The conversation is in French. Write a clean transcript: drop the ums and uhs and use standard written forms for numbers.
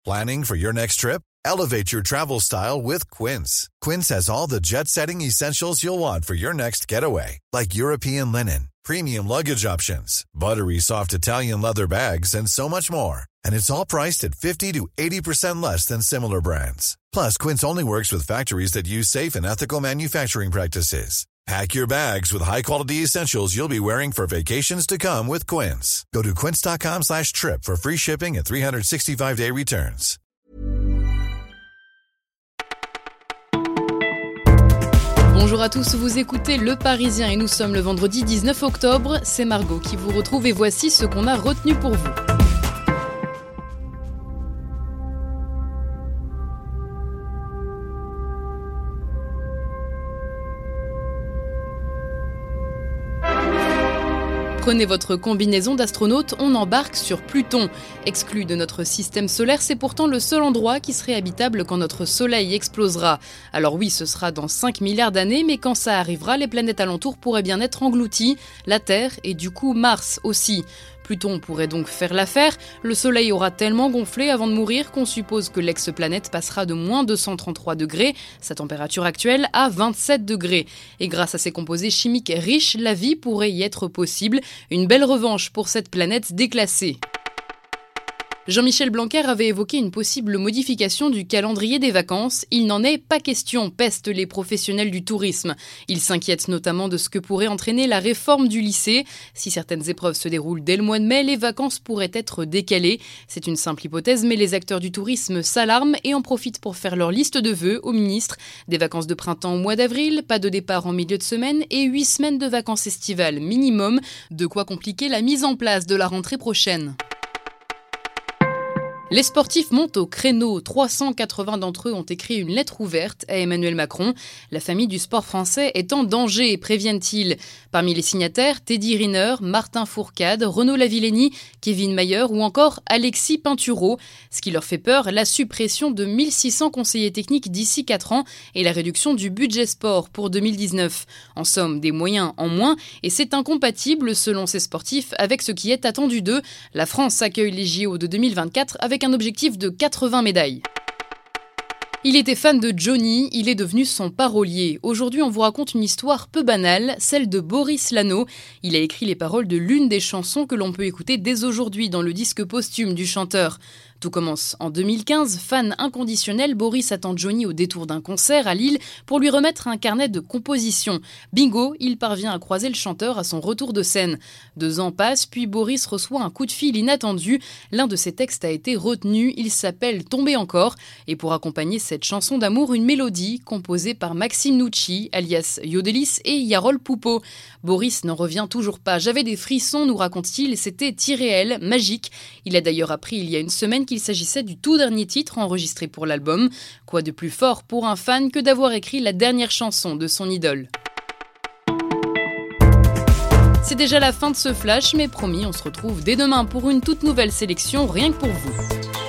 Planning for your next trip? Elevate your travel style with Quince. Quince has all the jet-setting essentials you'll want for your next getaway, like European linen, premium luggage options, buttery soft Italian leather bags, and so much more. And it's all priced at 50 to 80% less than similar brands. Plus, Quince only works with factories that use safe and ethical manufacturing practices. Pack your bags with high-quality essentials you'll be wearing for vacations to come with Quince. Go to quince.com/trip for free shipping and 365-day returns. Bonjour à tous, vous écoutez Le Parisien et nous sommes le vendredi 19 octobre. C'est Margot qui vous retrouve et voici ce qu'on a retenu pour vous. Prenez votre combinaison d'astronaute, on embarque sur Pluton. Exclu de notre système solaire, c'est pourtant le seul endroit qui serait habitable quand notre soleil explosera. Alors oui, ce sera dans 5 milliards d'années, mais quand ça arrivera, les planètes alentours pourraient bien être englouties, la Terre et du coup Mars aussi. Pluton pourrait donc faire l'affaire, le soleil aura tellement gonflé avant de mourir qu'on suppose que l'exoplanète passera de moins 233 degrés, sa température actuelle, à 27 degrés. Et grâce à ses composés chimiques riches, la vie pourrait y être possible, une belle revanche pour cette planète déclassée. Jean-Michel Blanquer avait évoqué une possible modification du calendrier des vacances. Il n'en est pas question, pestent les professionnels du tourisme. Ils s'inquiètent notamment de ce que pourrait entraîner la réforme du lycée. Si certaines épreuves se déroulent dès le mois de mai, les vacances pourraient être décalées. C'est une simple hypothèse, mais les acteurs du tourisme s'alarment et en profitent pour faire leur liste de vœux au ministre. Des vacances de printemps au mois d'avril, pas de départ en milieu de semaine et 8 semaines de vacances estivales minimum. De quoi compliquer la mise en place de la rentrée prochaine. Les sportifs montent au créneau. 380 d'entre eux ont écrit une lettre ouverte à Emmanuel Macron. La famille du sport français est en danger, préviennent-ils. Parmi les signataires, Teddy Riner, Martin Fourcade, Renaud Lavillenie, Kevin Mayer ou encore Alexis Pinturault. Ce qui leur fait peur, la suppression de 1600 conseillers techniques d'ici 4 ans et la réduction du budget sport pour 2019. En somme, des moyens en moins et c'est incompatible, selon ces sportifs, avec ce qui est attendu d'eux. La France accueille les JO de 2024 avec un objectif de 80 médailles. Il était fan de Johnny, il est devenu son parolier. Aujourd'hui, on vous raconte une histoire peu banale, celle de Boris Lano. Il a écrit les paroles de l'une des chansons que l'on peut écouter dès aujourd'hui dans le disque posthume du chanteur. Tout commence en 2015. Fan inconditionnel, Boris attend Johnny au détour d'un concert à Lille pour lui remettre un carnet de composition. Bingo, il parvient à croiser le chanteur à son retour de scène. 2 ans passent, puis Boris reçoit un coup de fil inattendu. L'un de ses textes a été retenu, il s'appelle « Tomber encore ». Et pour accompagner cette chanson d'amour, une mélodie composée par Maxime Nucci, alias Yodelis et Yarol Poupeau. Boris n'en revient toujours pas. « J'avais des frissons », nous raconte-t-il, c'était irréel, magique. Il a d'ailleurs appris il y a une semaine qu'il s'agissait du tout dernier titre enregistré pour l'album. Quoi de plus fort pour un fan que d'avoir écrit la dernière chanson de son idole. C'est déjà la fin de ce flash, mais promis, on se retrouve dès demain pour une toute nouvelle sélection rien que pour vous.